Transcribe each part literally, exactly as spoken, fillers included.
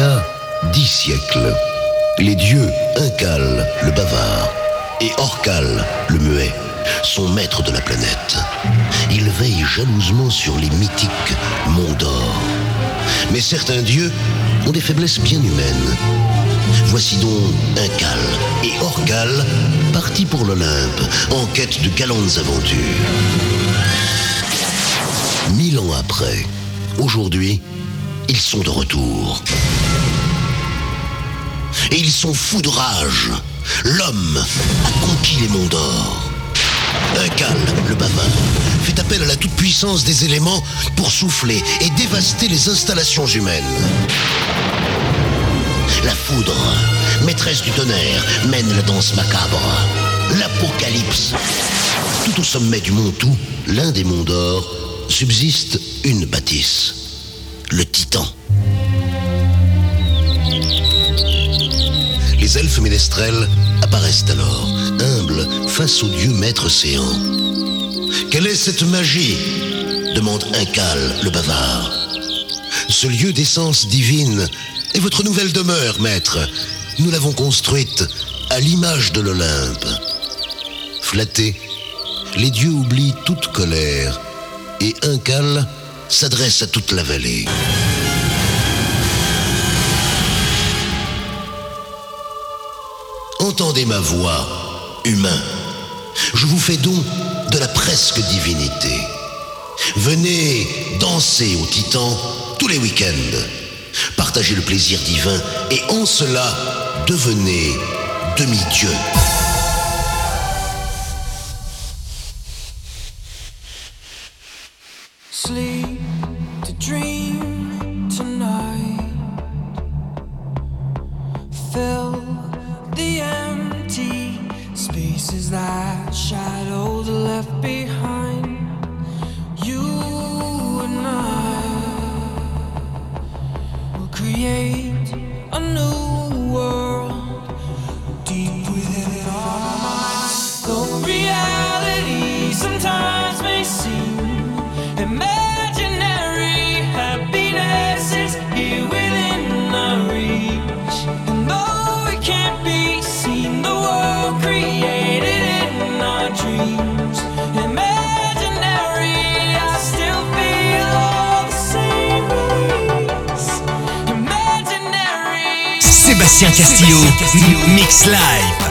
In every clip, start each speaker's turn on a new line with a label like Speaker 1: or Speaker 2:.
Speaker 1: a dix siècles, les dieux Incal, le bavard, et Orcal, le muet, sont maîtres de la planète. Ils veillent jalousement sur les mythiques monts d'or. Mais certains dieux ont des faiblesses bien humaines. Voici donc Incal et Orcal partis pour l'Olympe en quête de galantes aventures. Mille ans après, aujourd'hui, ils sont de retour. Et ils sont fous de rage. L'homme a conquis les monts d'or. Incal, le bavard, fait appel à la toute-puissance des éléments pour souffler et dévaster les installations humaines. La foudre, maîtresse du tonnerre, mène la danse macabre. L'apocalypse. Tout au sommet du mont Tout, l'un des monts d'or, subsiste une bâtisse. Le Titan. Les elfes ménestrels apparaissent alors, humbles face au dieu maître séant. Quelle est cette magie ? Demande Incal, le bavard. Ce lieu d'essence divine est votre nouvelle demeure, maître. Nous l'avons construite à l'image de l'Olympe. Flattés, les dieux oublient toute colère et Incal s'adresse à toute la vallée. Entendez ma voix, humain. Je vous fais don de la presque divinité. Venez danser au Titan tous les week-ends. Partagez le plaisir divin et en cela, devenez demi-dieu.
Speaker 2: Sleep to dream tonight. Fill the empty spaces that shadows left behind. You and I will create a new world deep within our minds. Though reality sometimes may seem imaginary, happiness is here within our reach. And though it can't be seen, the world created in our dreams, imaginary, I still feel all the same ways. Imaginary.
Speaker 3: Sébastien Castillo, Mix Live.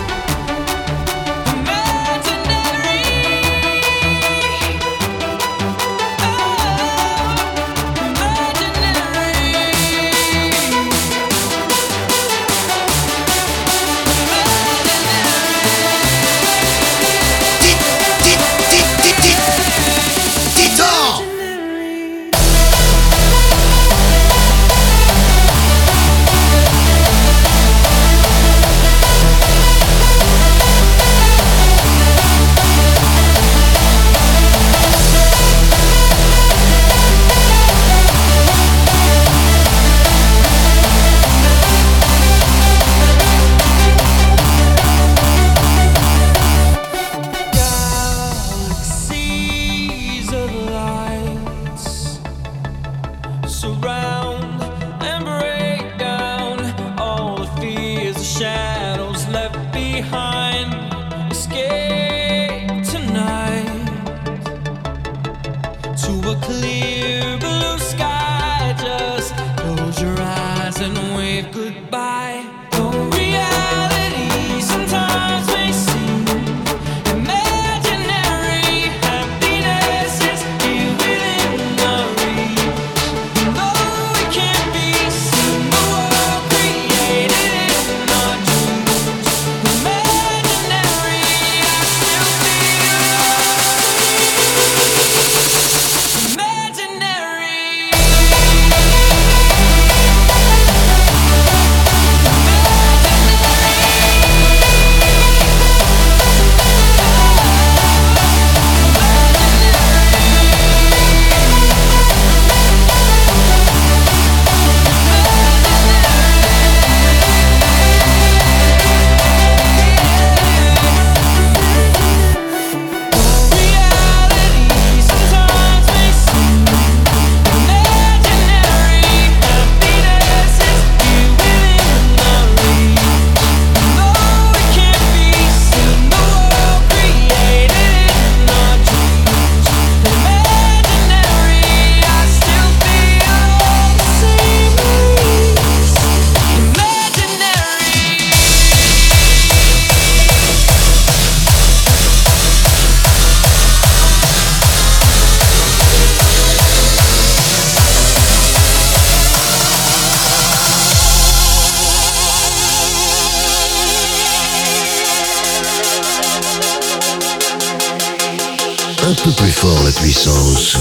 Speaker 1: un peu plus fort la puissance.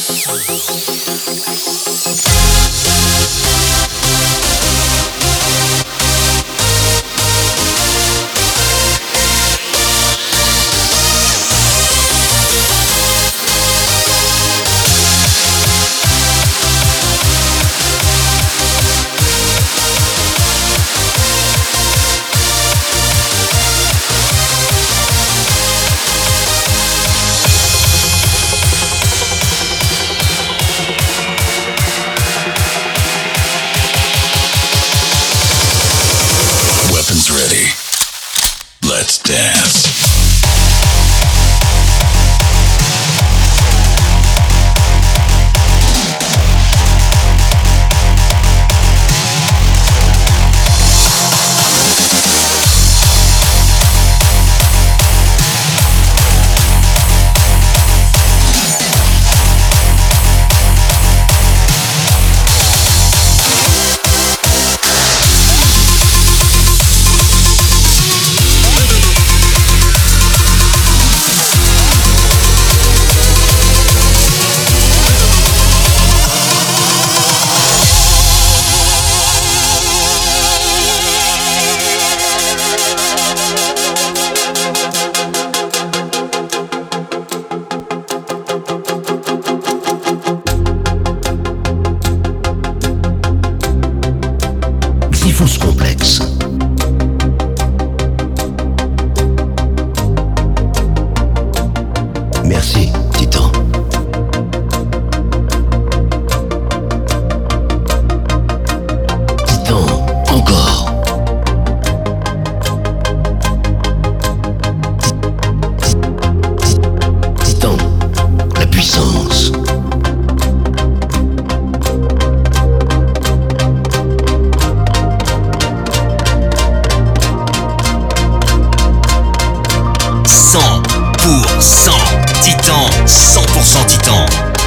Speaker 4: Ready. Let's dance.
Speaker 1: Diffus complexe. Merci, Titan. Titan, encore. Titan, la puissance.
Speaker 3: cent pour cent Titan, cent pour cent Titan.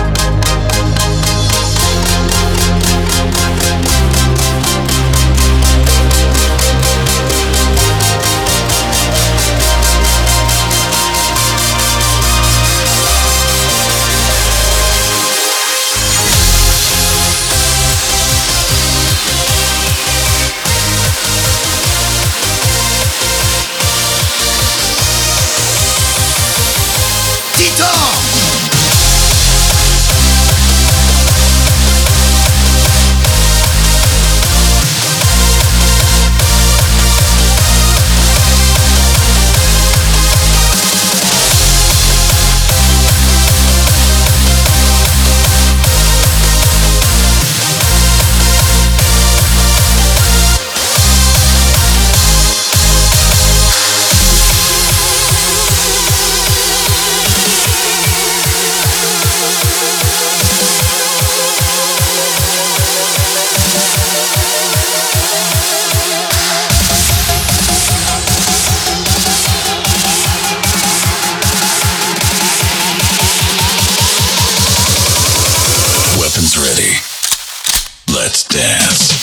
Speaker 4: Ready. Let's dance.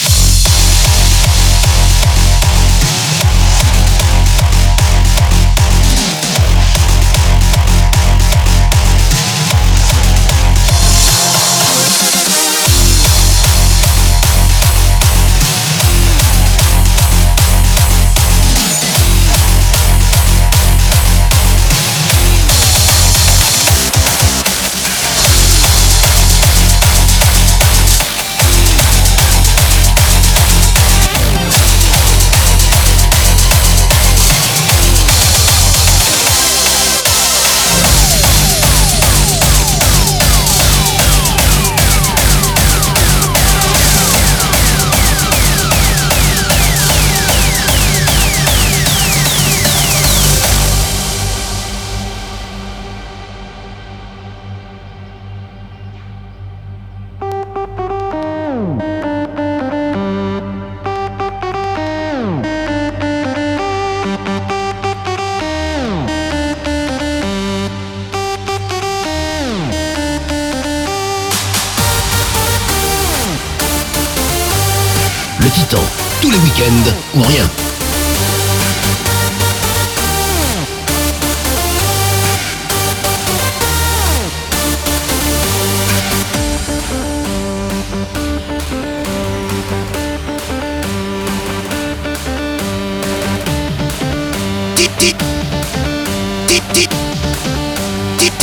Speaker 1: Le Titan, tous les week-ends ou rien.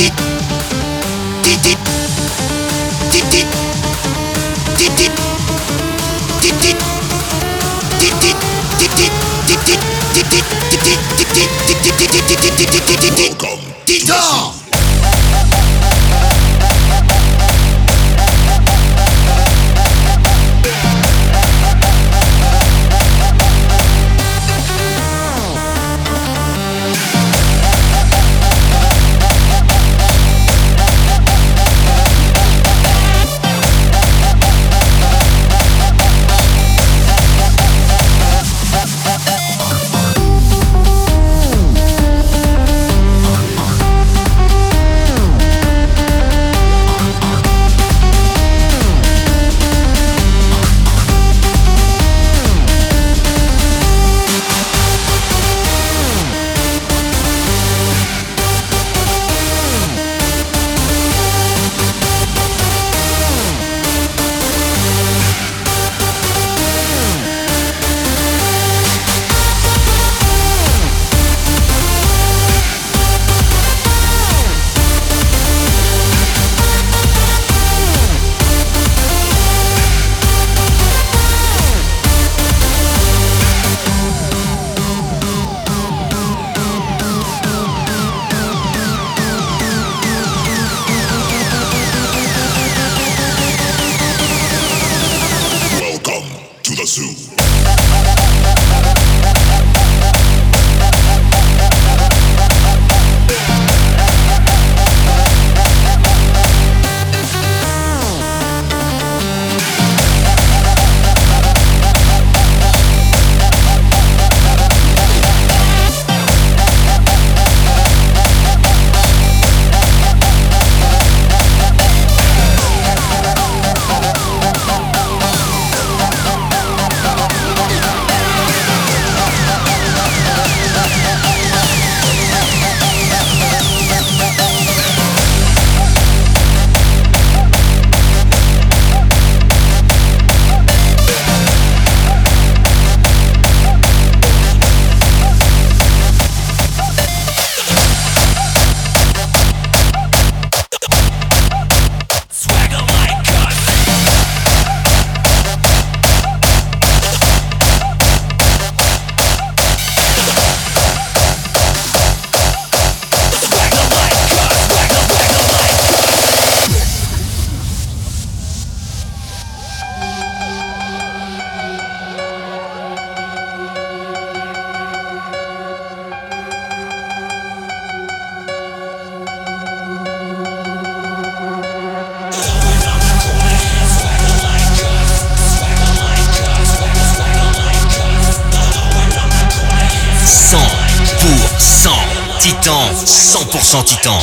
Speaker 3: Titan, cent pour cent Titan.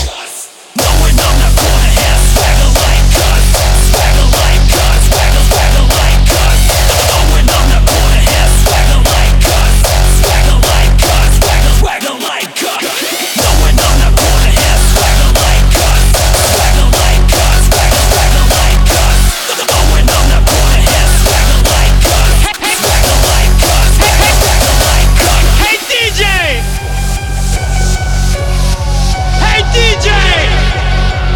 Speaker 5: D J!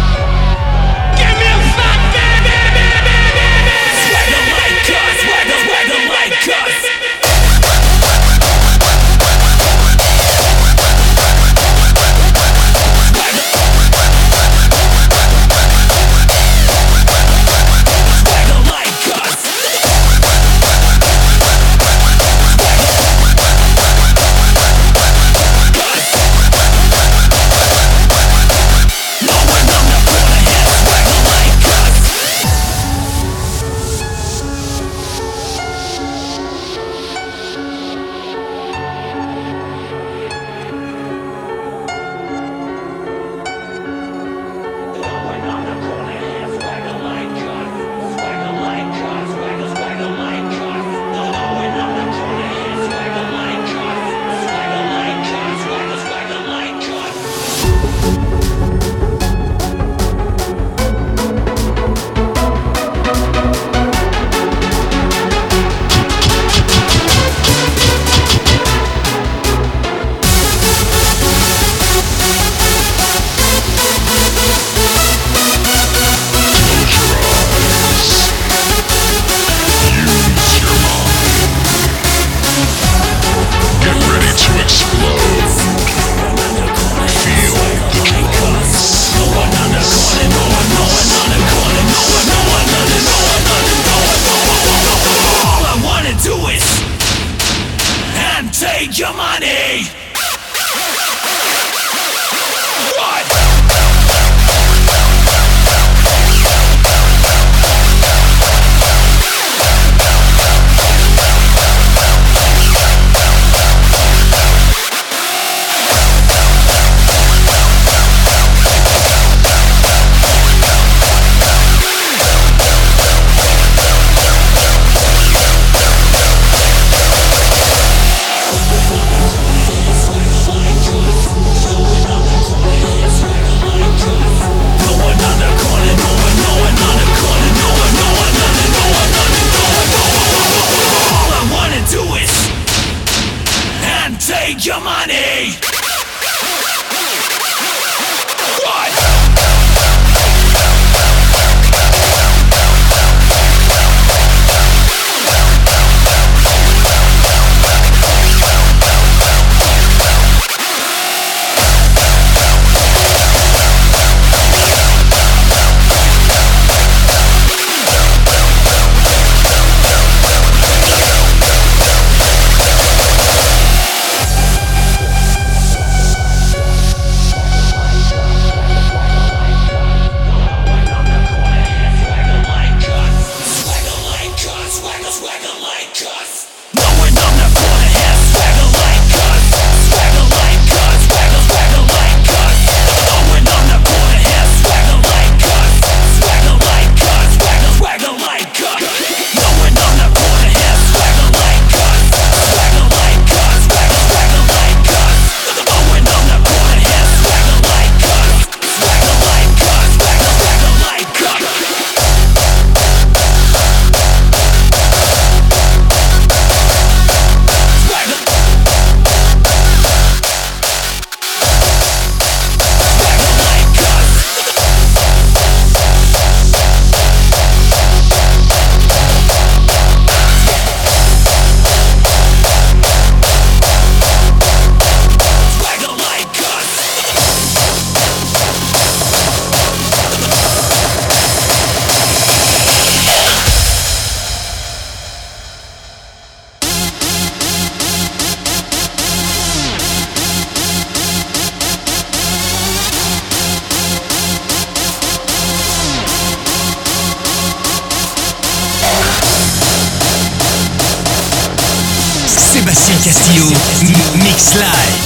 Speaker 3: Castillo, M- Mix Live.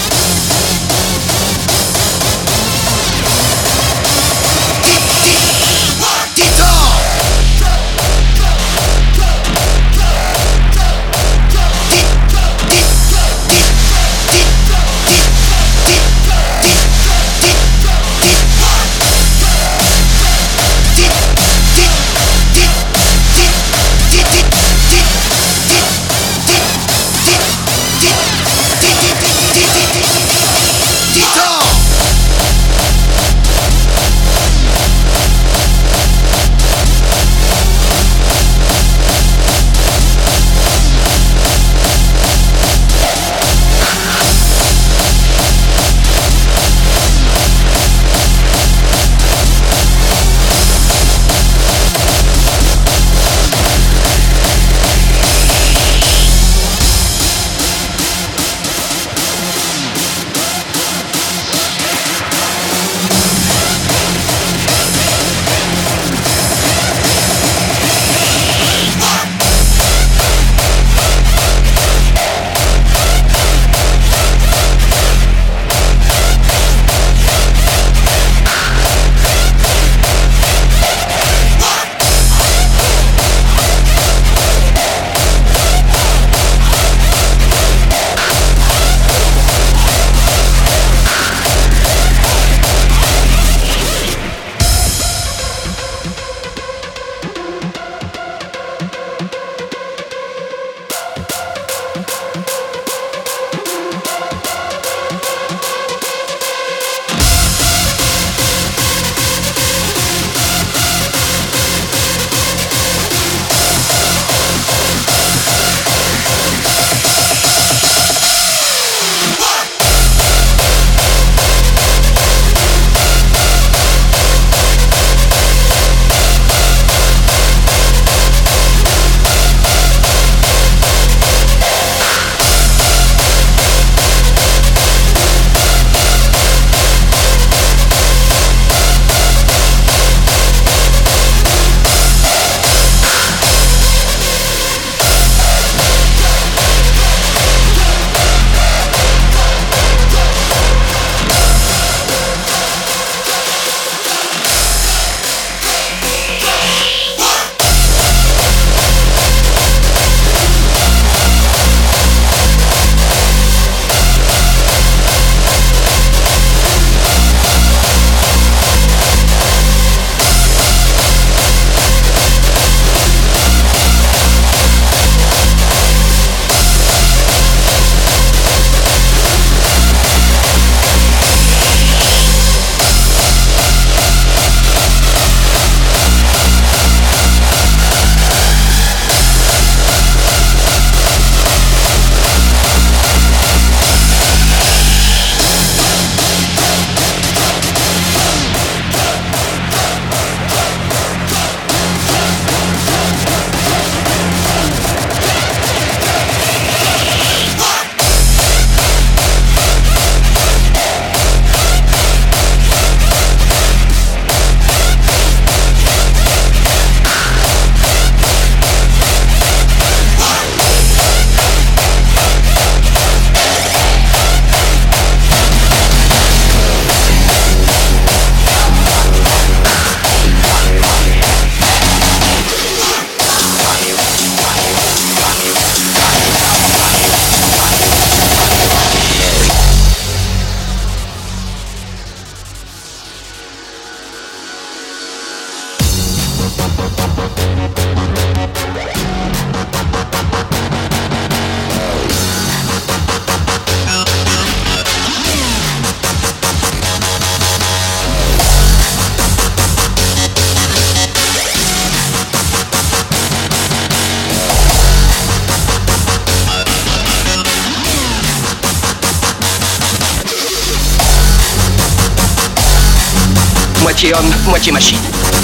Speaker 5: Moitié homme, moitié machine.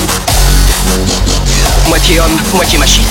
Speaker 5: Moitié homme, moitié machine.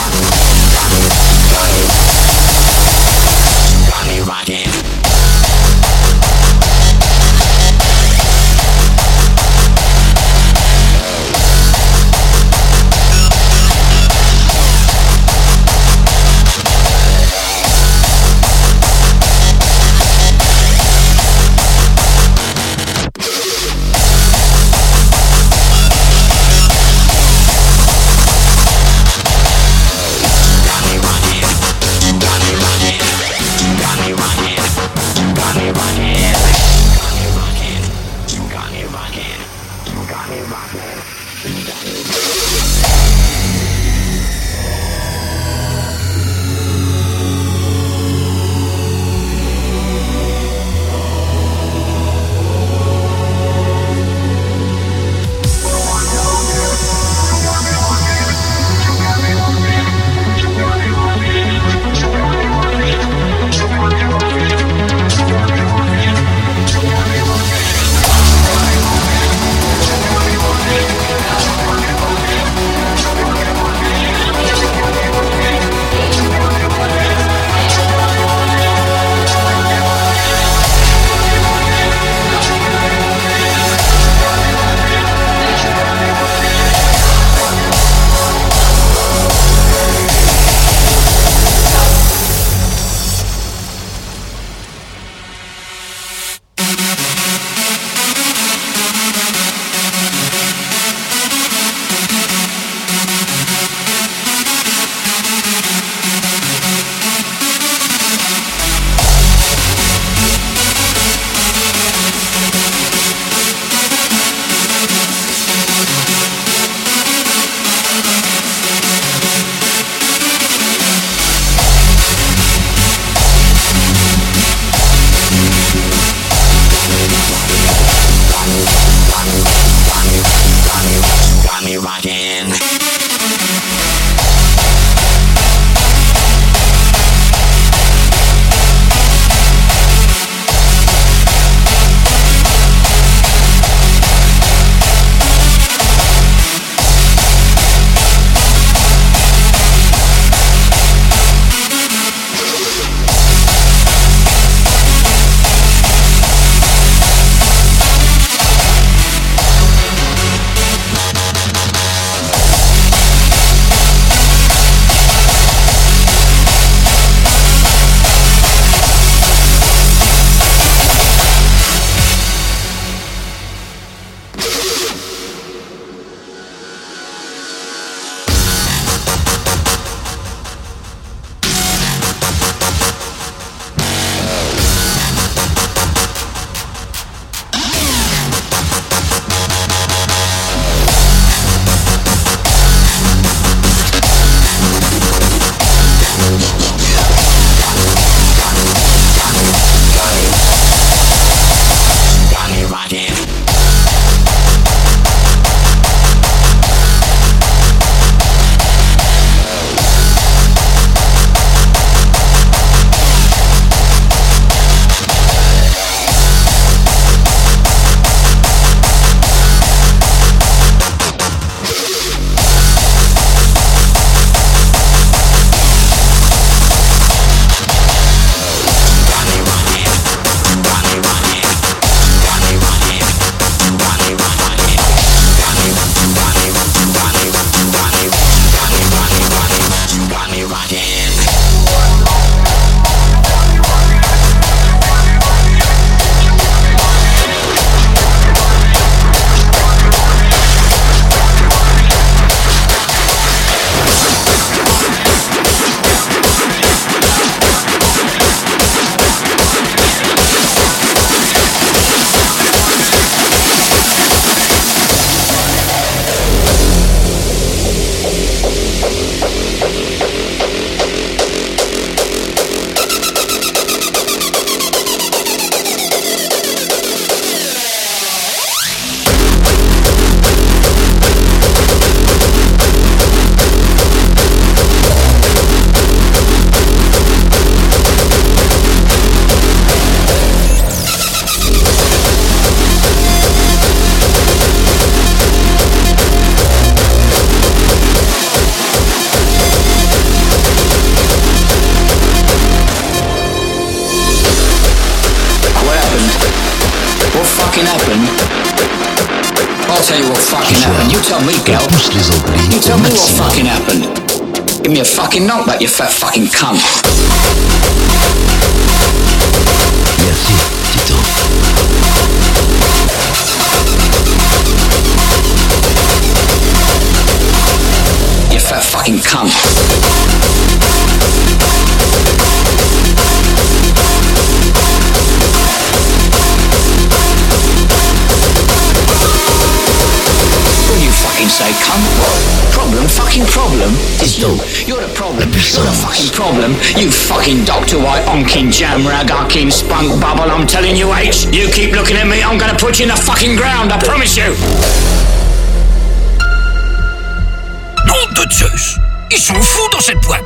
Speaker 5: tell you what fucking
Speaker 1: Ce soir,
Speaker 5: happened. You tell me, girl.
Speaker 1: on pousse les amplis
Speaker 5: You
Speaker 1: au
Speaker 5: tell me what
Speaker 1: maximum.
Speaker 5: fucking happened. Give me a fucking knockback, you fat fucking cunt.
Speaker 1: Merci, Tito.
Speaker 5: You fat fucking cunt. What do you fucking say, cunt? Problem, fucking problem is you. You're the problem. You're the fucking problem. You fucking Doctor White, onkin jam rag, arkin spunk bubble. I'm telling you, H. You keep looking at me, I'm gonna put you in the fucking ground. I promise you.
Speaker 3: Nom de Zeus! Ils sont fous dans cette boîte!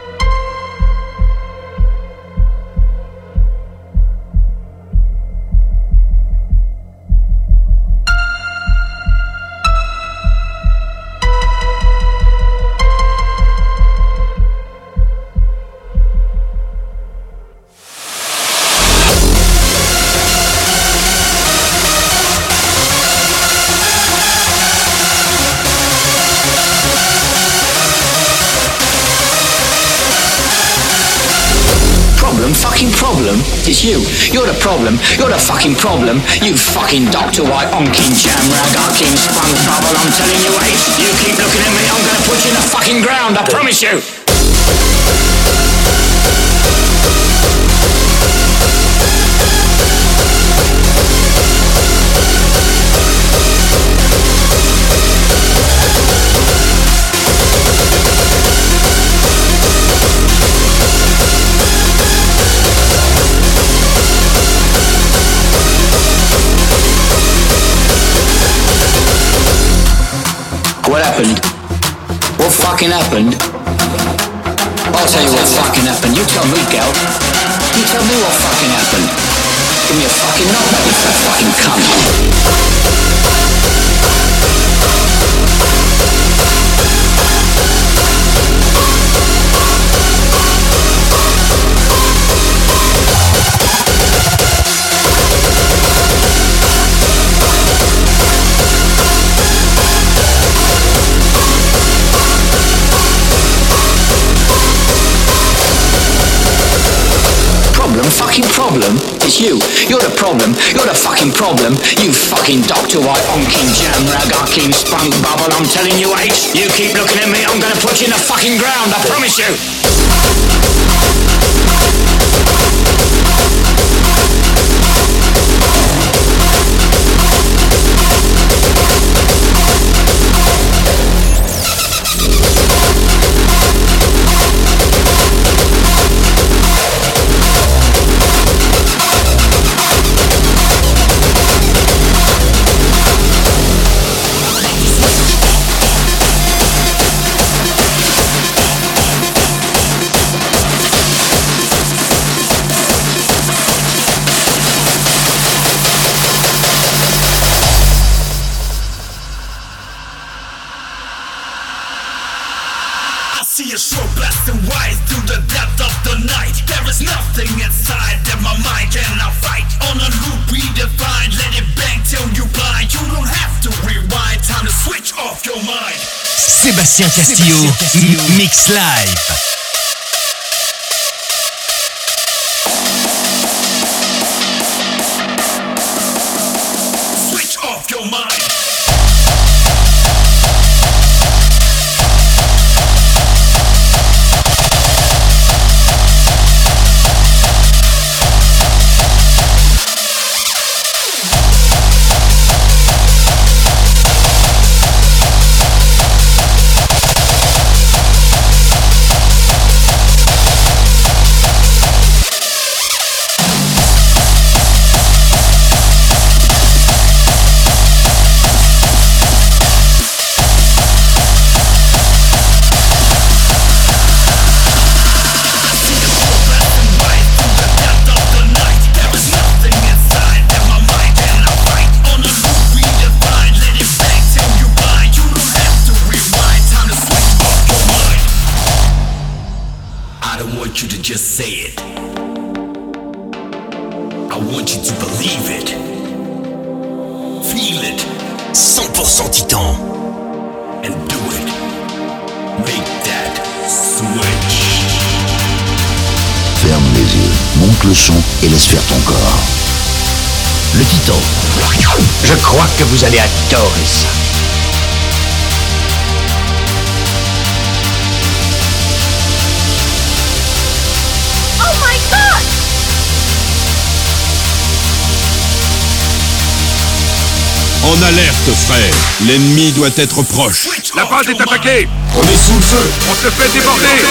Speaker 5: Fucking problem is you. You're the problem. You're the fucking problem. You fucking Doctor White, onkin jam rag, arkin spunk bubble. I'm telling you, H. You keep looking at me, I'm gonna put you in the fucking ground. I promise you. What happened? What fucking happened? I'll tell you what fucking happened. You tell me, gal. You tell me what fucking happened. Give me a fucking knockback, you fat fucking cunt. Fucking problem is you. You're the problem. You're the fucking problem. You fucking Doctor White, onkin jam rag, arkin spunk bubble. I'm telling you, H. You keep looking at me, I'm gonna put you in the fucking ground. I promise you.
Speaker 6: See a slow blasting wide through the depth of the night. There is nothing inside that my mind cannot fight. On a loop redefined, let it bang till you blind. You don't have to rewind, time to switch off your mind.
Speaker 3: Sébastien Castillo, M- Mix Live.
Speaker 6: Switch off your mind. Just say it. I want you to believe it. Feel it.
Speaker 3: cent pour cent cent titans.
Speaker 6: And do it. Make that switch.
Speaker 7: Ferme les yeux, monte le son et laisse faire ton corps. Le Titan.
Speaker 5: Je crois que vous allez adorer ça.
Speaker 8: Oh my God!
Speaker 9: En alerte, frère. L'ennemi doit être proche.
Speaker 10: La base est attaquée.
Speaker 4: On est sous le feu.
Speaker 10: On se fait déborder.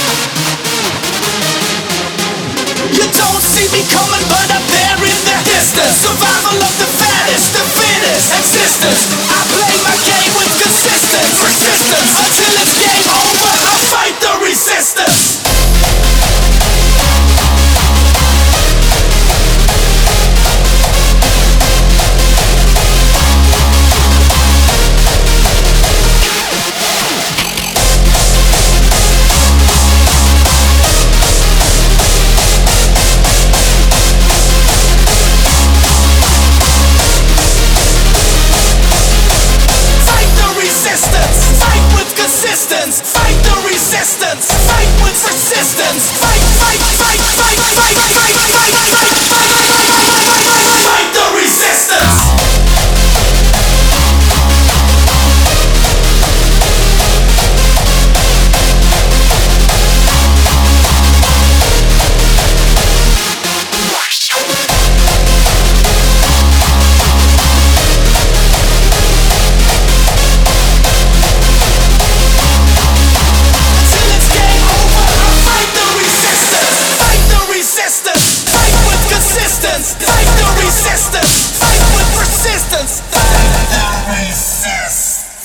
Speaker 6: You don't see me coming, but I'm there in the distance. resistance. Survival of the fattest, the fittest. Existence. I play my game with consistence. Persistence. Until it's game over, I fight the resistance. Fight the resistance. Fight with persistence. Fight, fight, fight, fight, fight, fight, fight, fight, fight, fight, fight, fight, fight the resistance. Fight the resistance. Fight with persistence. Fight the resistance.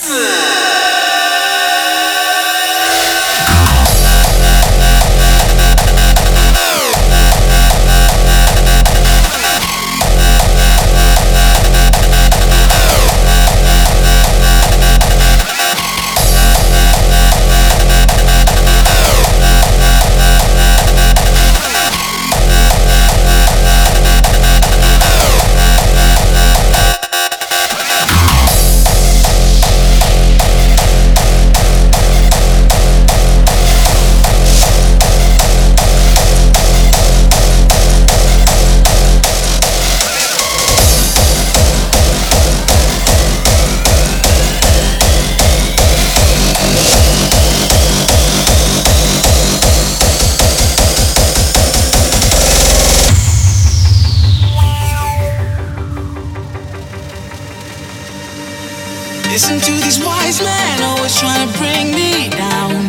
Speaker 6: Listen to these wise men always trying to bring me down.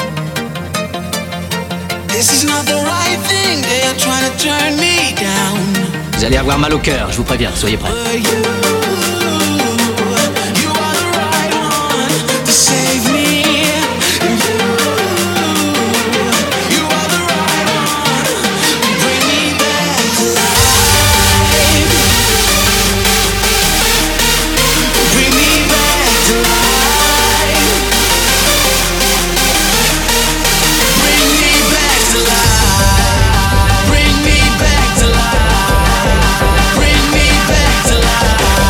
Speaker 6: This is not the right thing, they are trying to turn me down.
Speaker 5: Vous allez avoir mal au cœur, je vous préviens, soyez prêts.
Speaker 6: But you, you are the right one to save me. You, you are the right one to bring me back to life. Bring me back to life. Bring me back to life. Bring me back to life. Bring me back to life.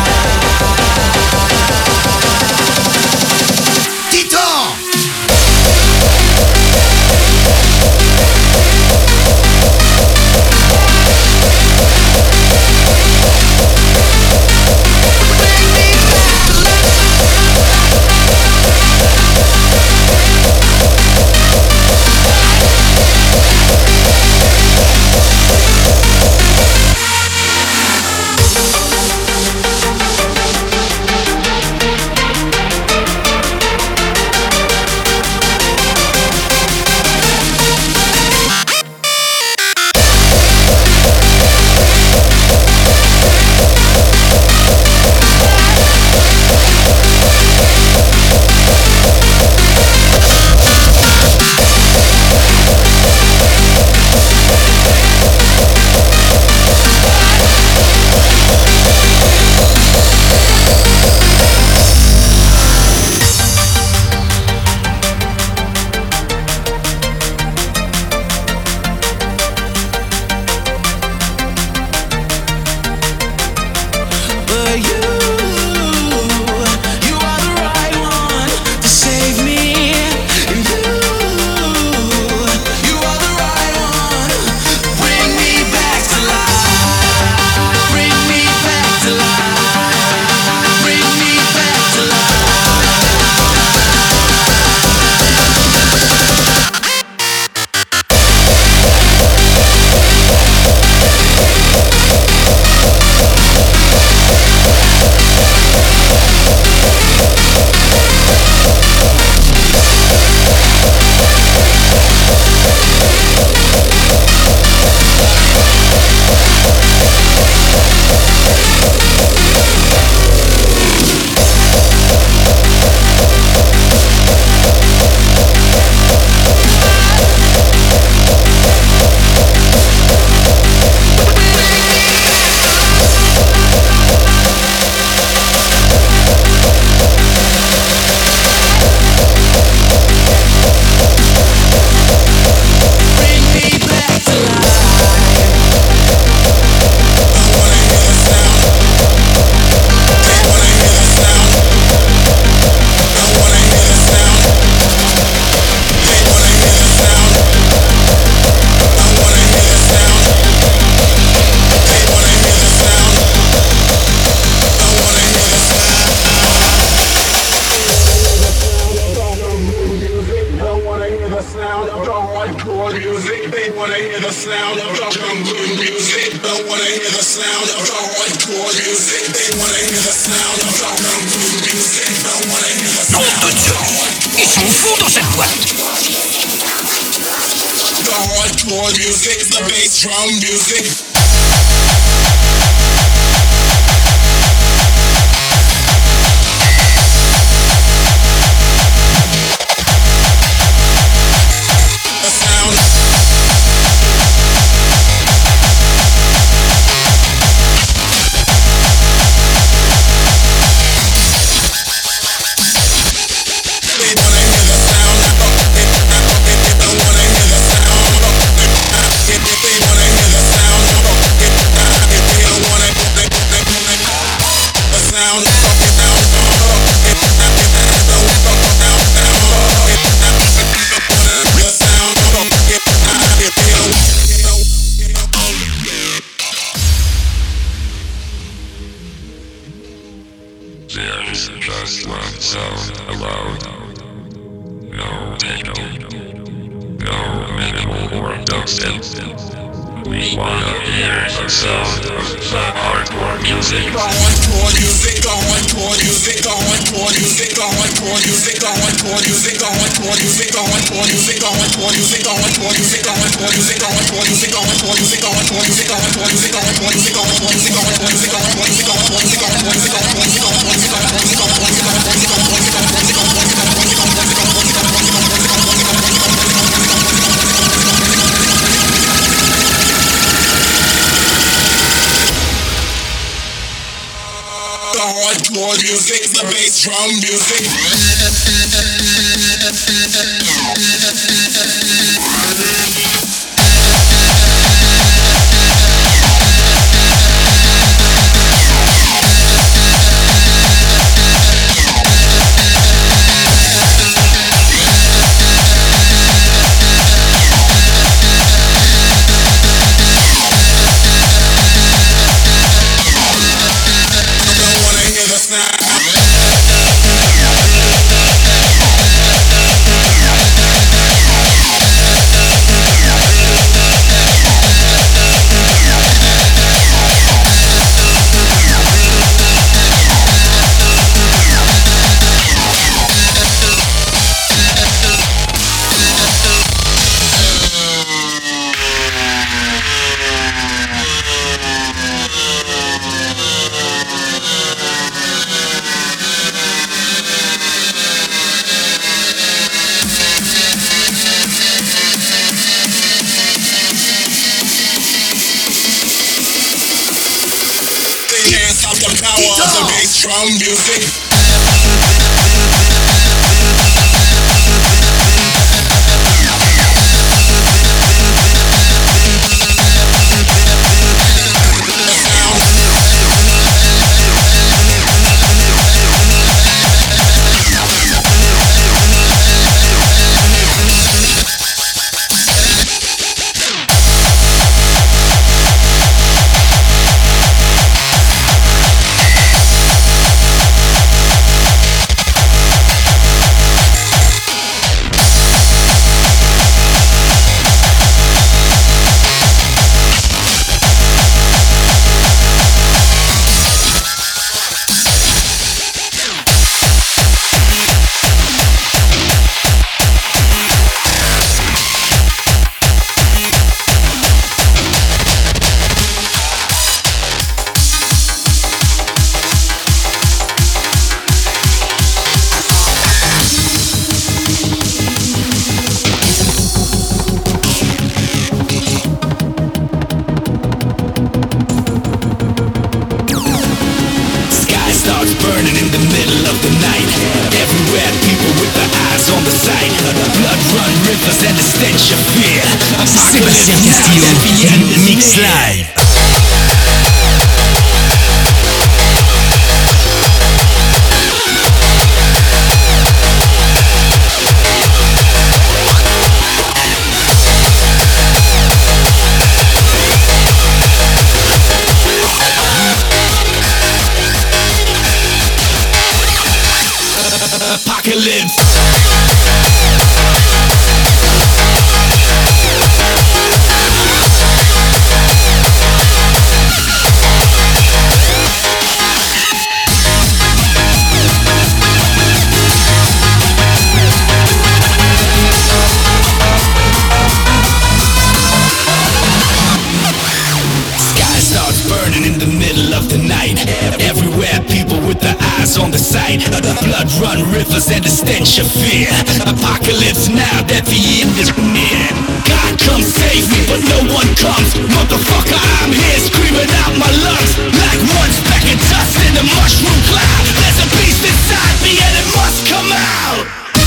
Speaker 6: the sound of the hardcore music. They wanna hear the sound of the jungle music. Don't wanna hear the sound of the hardcore music. They wanna hear the sound of the jungle music. Don't wanna hear the sound of the hardcore.
Speaker 5: Ils sont fous dans cette boîte.
Speaker 6: The hardcore music, the bass drum music. Hardcore music, the bass drum music. Drum music.
Speaker 3: Sébastien Castillo, Mix Live.
Speaker 6: Apocalypse. sight of the blood-run rivers and the stench of fear. Apocalypse now that the end is near. God come save me, but no one comes. Motherfucker, I'm here screaming out my lungs like one speck of dust in the mushroom cloud. There's a beast inside me and it must come out.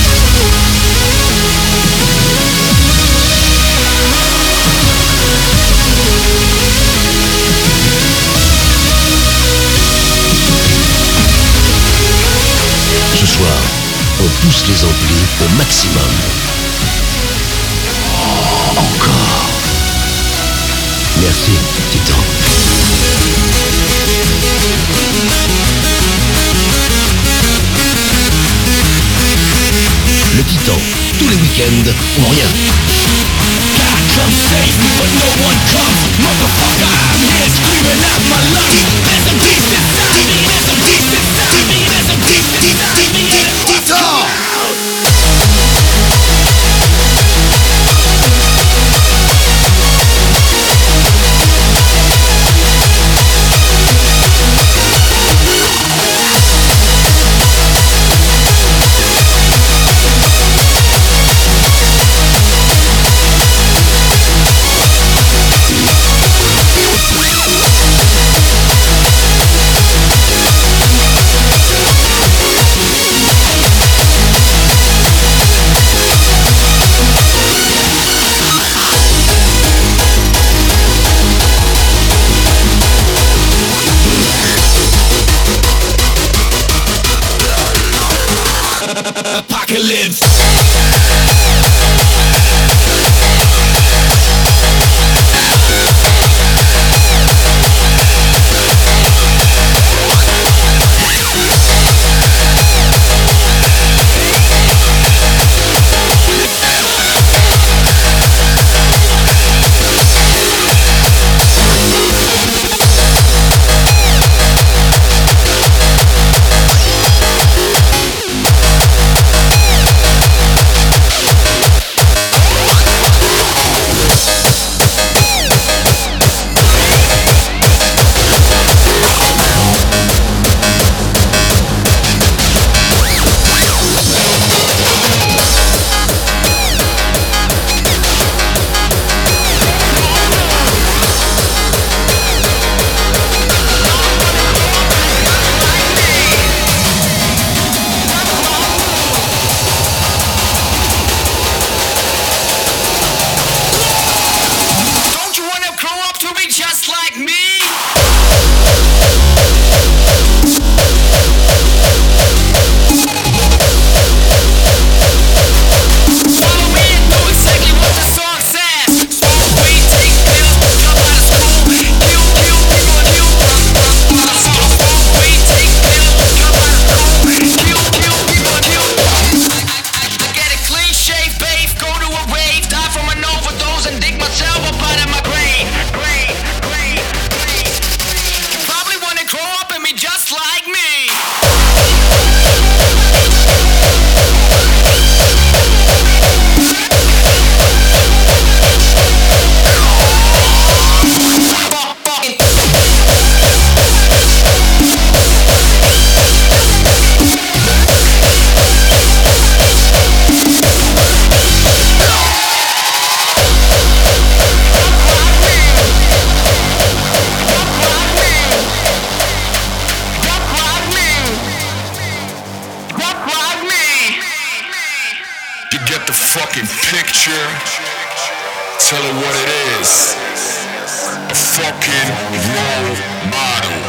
Speaker 1: Ce soir, on pousse les amplis au maximum. Encore. Merci, Titan. Le Titan, tous les week-ends ou rien.
Speaker 6: God come save me, but no one comes. Motherfucker, I'm here screaming out my lungs. There's a beast inside me, there's a beast inside me, there's a beast inside me, and it must come out. Apocalypse.
Speaker 11: Tell her what it is. A fucking role model.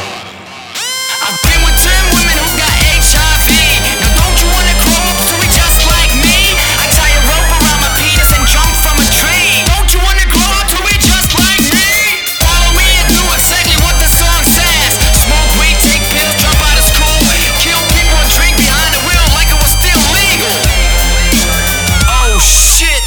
Speaker 6: I've been with ten women who got H I V. Now don't you wanna grow up to be just like me? I tie a rope around my penis and jump from a tree. Don't you wanna grow up to be just like me? Follow me and do exactly what the song says. Smoke weed, take pills, drop out of school, kill people and drink behind the wheel like it was still legal. Oh shit.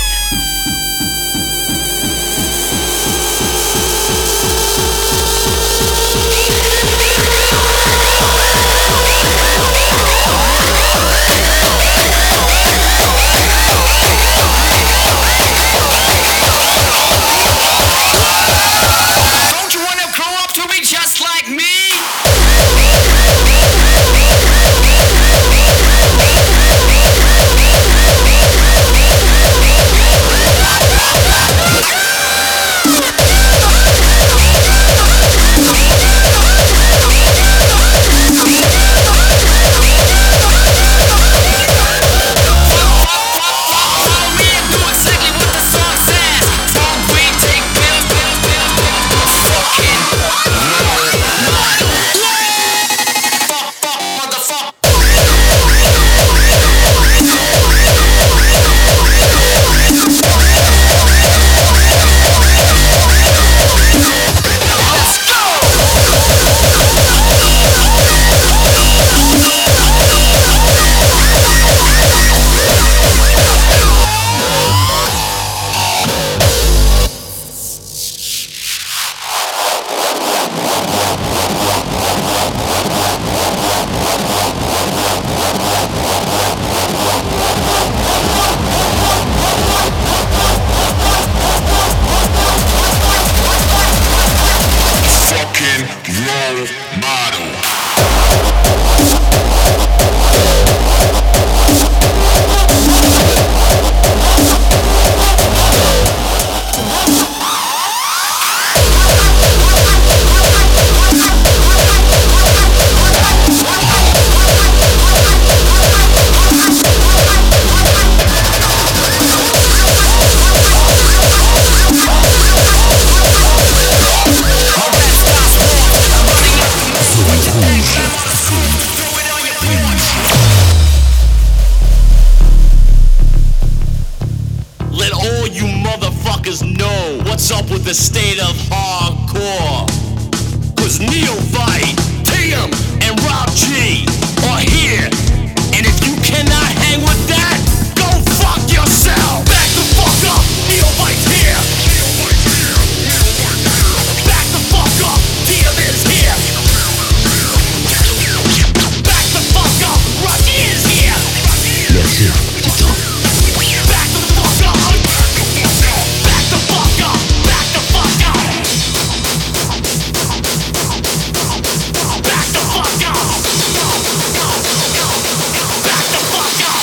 Speaker 12: let all you motherfuckers know what's up with the state of hardcore. Cause Neophyte, T M, and Rob G are here. And if you cannot hang with that, go fuck yourself. Back the fuck up, Neophyte's here. Back the fuck up, T M is here. Back the fuck up, Rob G is here.
Speaker 1: Merci, Titan.
Speaker 12: Back the fuck up. Back the fuck up. Back the fuck up. Back the fuck up. Back the fuck up.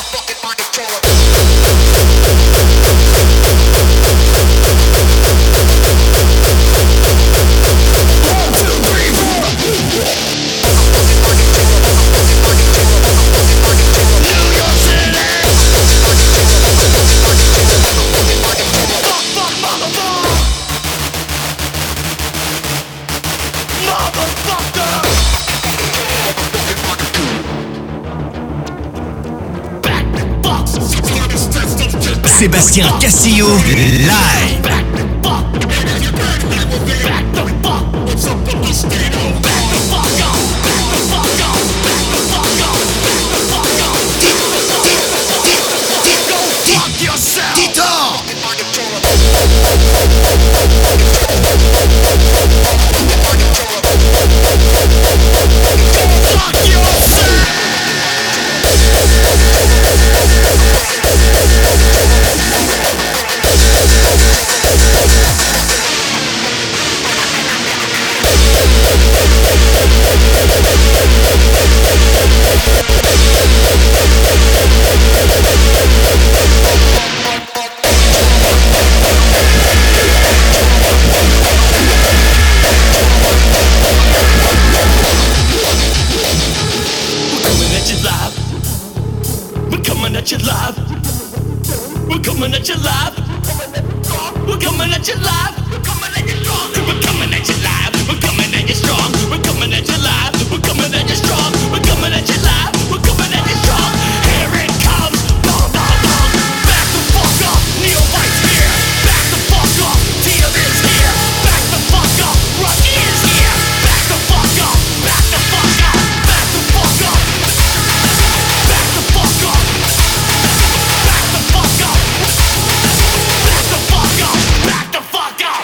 Speaker 12: One, two, three, four. New York City. Fuck, fuck, motherfucker. Motherfucker. Back, fuck.
Speaker 3: Sébastien Castillo, live.
Speaker 12: Back, fuck. Back the fuck. What's up with the state of? Back the fuck up. Back the fuck up. Back the fuck up. Back the fuck up. Go fuck yourself.
Speaker 1: Titan!
Speaker 12: Fuck yourself. We're coming at you live. We're coming at you live. We're coming at you live. We're coming at you strong. We're coming at you live. We're coming at you strong. We're coming at you live. We're coming at you strong. We're coming at you live. We're coming at you strong. Here it comes. Bong, bong, bong. Back the fuck up. Neophyte's here. Back the fuck up. T M is here. Back the fuck up. Rocky is here. Back the fuck up. Back the fuck up. Back the fuck up. Back the fuck up. Back the fuck up. Back the fuck up. Back the fuck up.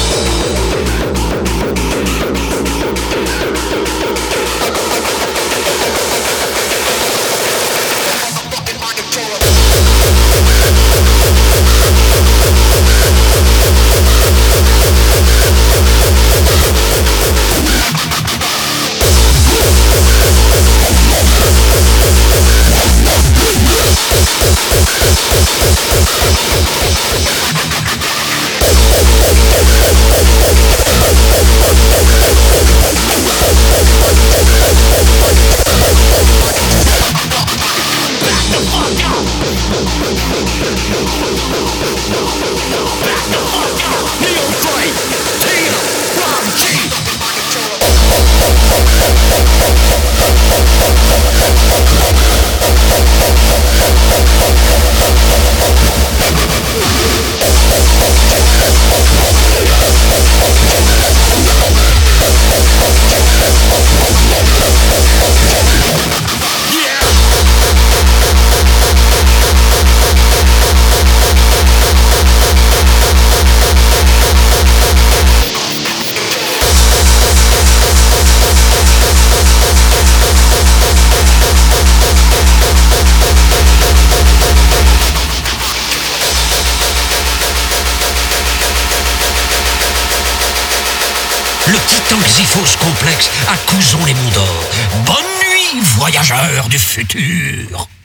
Speaker 3: Le titan Xyphos complexe à Couzon les Monts d'Or. Bonne nuit, voyageurs du futur.